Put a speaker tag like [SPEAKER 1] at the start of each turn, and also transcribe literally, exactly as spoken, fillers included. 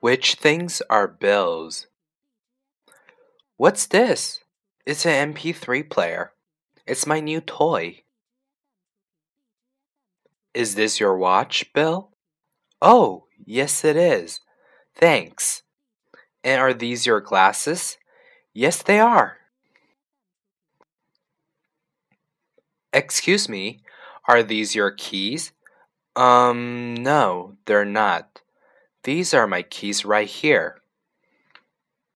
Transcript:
[SPEAKER 1] Which things are bills? What's this? It's an M P three player. It's my new toy. Is this your watch, Bill? Oh, yes it is. Thanks. And are these your glasses? Yes, they are. Excuse me, are these your keys? Um, no, they're not. These are my keys right here.